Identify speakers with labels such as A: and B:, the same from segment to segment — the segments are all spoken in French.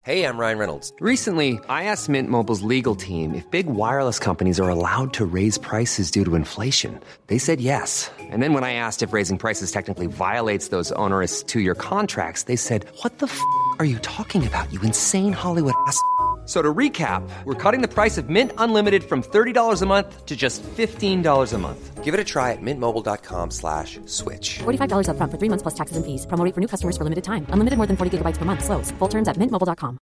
A: Hey, I'm Ryan Reynolds.
B: Recently, I asked Mint Mobile's legal team if big wireless companies are allowed to raise prices due to inflation. They said yes. And then when I asked if raising prices technically violates those onerous two-year contracts, they said, "What the f*** are you talking about, you insane Hollywood ass?" So to recap, we're cutting the price of Mint Unlimited from $30 a month to just $15 a month.
A: Give it a try at mintmobile.com/switch.
C: $45 up front for 3 months plus taxes and fees. Promo rate for new customers for limited time. Unlimited more than 40 gigabytes per month. Slows full terms at mintmobile.com.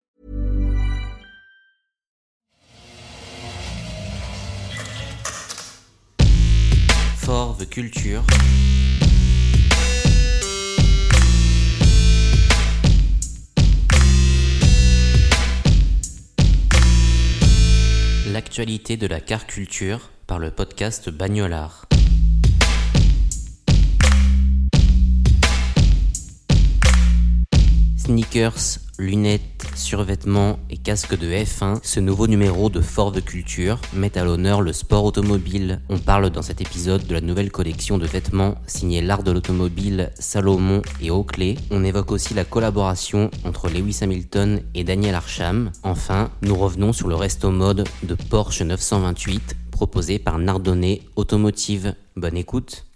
D: For the Culture. L'actualité de la car culture par le podcast Bagnolard. Sneakers, lunettes, survêtements et casques de F1, ce nouveau numéro de For the Culture met à l'honneur le sport automobile. On parle dans cet épisode de la nouvelle collection de vêtements signée l'art de l'automobile, Salomon et Oakley. On évoque aussi la collaboration entre Lewis Hamilton et Daniel Arsham. Enfin, nous revenons sur le resto mode de Porsche 928 proposé par Nardone Automotive. Bonne écoute.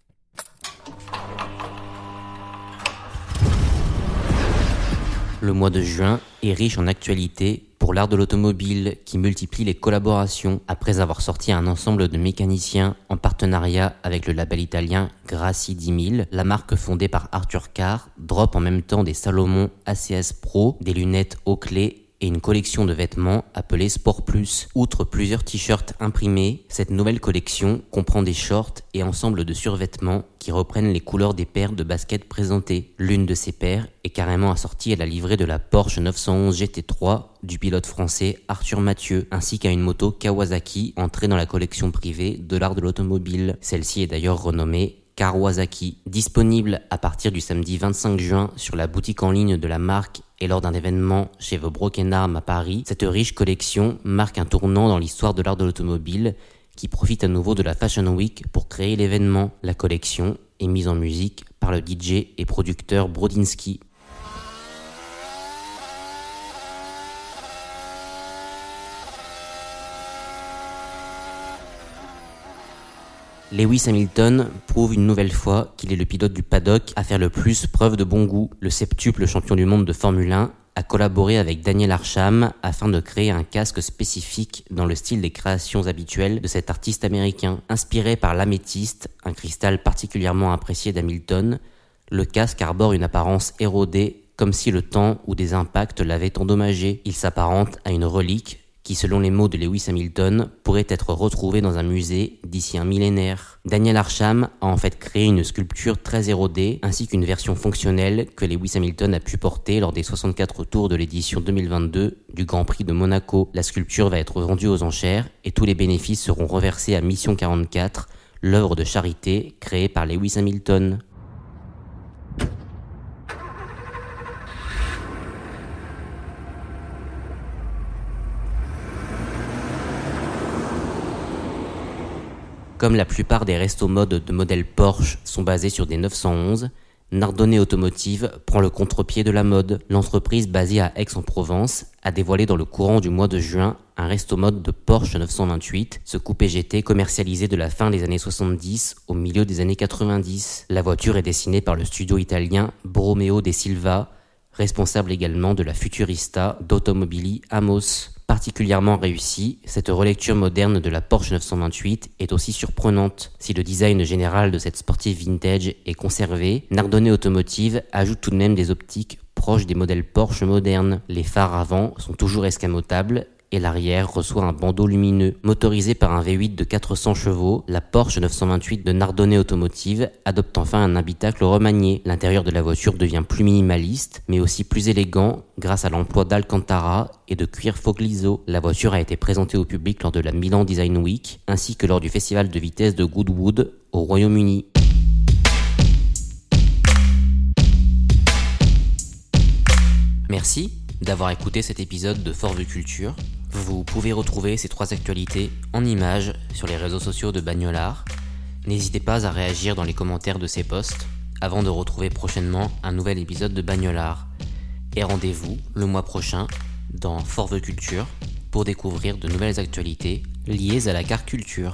D: Le mois de juin est riche en actualités pour l'art de l'automobile qui multiplie les collaborations. Après avoir sorti un ensemble de mécaniciens en partenariat avec le label italien Grassi 10000, la marque fondée par Arthur Carr drop en même temps des Salomon ACS Pro, des lunettes Oakley et une collection de vêtements appelée Sport Plus. Outre plusieurs t-shirts imprimés, cette nouvelle collection comprend des shorts et ensembles de survêtements qui reprennent les couleurs des paires de baskets présentées. L'une de ces paires est carrément assortie à la livrée de la Porsche 911 GT3 du pilote français Arthur Mathieu, ainsi qu'à une moto Kawasaki entrée dans la collection privée de l'art de l'automobile. Celle-ci est d'ailleurs renommée Kawasaki. Disponible à partir du samedi 25 juin sur la boutique en ligne de la marque et lors d'un événement chez The Broken Arm à Paris, cette riche collection marque un tournant dans l'histoire de l'art de l'automobile qui profite à nouveau de la Fashion Week pour créer l'événement. La collection est mise en musique par le DJ et producteur Brodinski. Lewis Hamilton prouve une nouvelle fois qu'il est le pilote du paddock à faire le plus preuve de bon goût. Le septuple champion du monde de Formule 1 a collaboré avec Daniel Arsham afin de créer un casque spécifique dans le style des créations habituelles de cet artiste américain. Inspiré par l'améthyste, un cristal particulièrement apprécié d'Hamilton, le casque arbore une apparence érodée comme si le temps ou des impacts l'avaient endommagé. Il s'apparente à une relique qui, selon les mots de Lewis Hamilton, pourrait être retrouvé dans un musée d'ici un millénaire. Daniel Arsham a en fait créé une sculpture très érodée, ainsi qu'une version fonctionnelle que Lewis Hamilton a pu porter lors des 64 tours de l'édition 2022 du Grand Prix de Monaco. La sculpture va être vendue aux enchères et tous les bénéfices seront reversés à Mission 44, l'œuvre de charité créée par Lewis Hamilton. Comme la plupart des restos mode de modèle Porsche sont basés sur des 911, Nardone Automotive prend le contre-pied de la mode. L'entreprise basée à Aix-en-Provence a dévoilé dans le courant du mois de juin un resto mode de Porsche 928, ce coupé GT commercialisé de la fin des années 70 au milieu des années 90. La voiture est dessinée par le studio italien Bromeo de Silva, responsable également de la Futurista d'Automobili Amos. Particulièrement réussie, cette relecture moderne de la Porsche 928 est aussi surprenante. Si le design général de cette sportive vintage est conservé, Nardone Automotive ajoute tout de même des optiques proches des modèles Porsche modernes. Les phares avant sont toujours escamotables et l'arrière reçoit un bandeau lumineux. Motorisée par un V8 de 400 chevaux, la Porsche 928 de Nardone Automotive adopte enfin un habitacle remanié. L'intérieur de la voiture devient plus minimaliste, mais aussi plus élégant grâce à l'emploi d'Alcantara et de cuir Fogliso. La voiture a été présentée au public lors de la Milan Design Week, ainsi que lors du festival de vitesse de Goodwood au Royaume-Uni. Merci d'avoir écouté cet épisode de For the Culture. Vous pouvez retrouver ces 3 actualités en images sur les réseaux sociaux de Bagnolard. N'hésitez pas à réagir dans les commentaires de ces posts avant de retrouver prochainement un nouvel épisode de Bagnolard. Et rendez-vous le mois prochain dans For the Culture pour découvrir de nouvelles actualités liées à la car culture.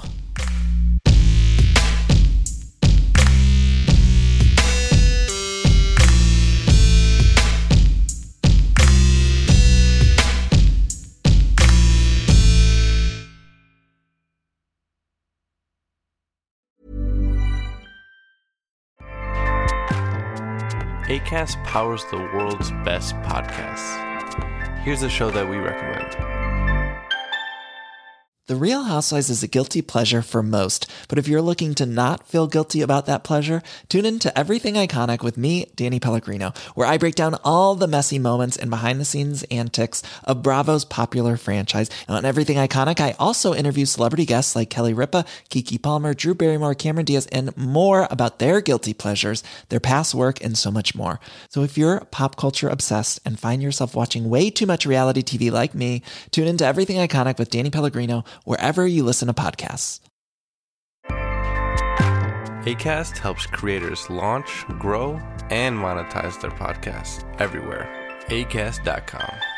E: Acast powers the world's best podcasts. Here's a show that we recommend.
F: The Real Housewives is a guilty pleasure for most, but if you're looking to not feel guilty about that pleasure, tune in to Everything Iconic with me, Danny Pellegrino, where I break down all the messy moments and behind-the-scenes antics of Bravo's popular franchise. And on Everything Iconic, I also interview celebrity guests like Kelly Ripa, Keke Palmer, Drew Barrymore, Cameron Diaz, and more about their guilty pleasures, their past work, and so much more. So if you're pop culture obsessed and find yourself watching way too much reality TV like me, tune in to Everything Iconic with Danny Pellegrino, wherever you listen to podcasts.
E: Acast helps creators launch, grow, and monetize their podcasts everywhere. Acast.com.